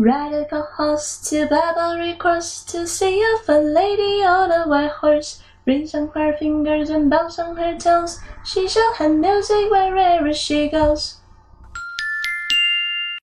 Ride a horse to Barbary Cross to see a fine lady on a white horse. Rings on her fingers and bells on her toes. She shall have music wherever she goes.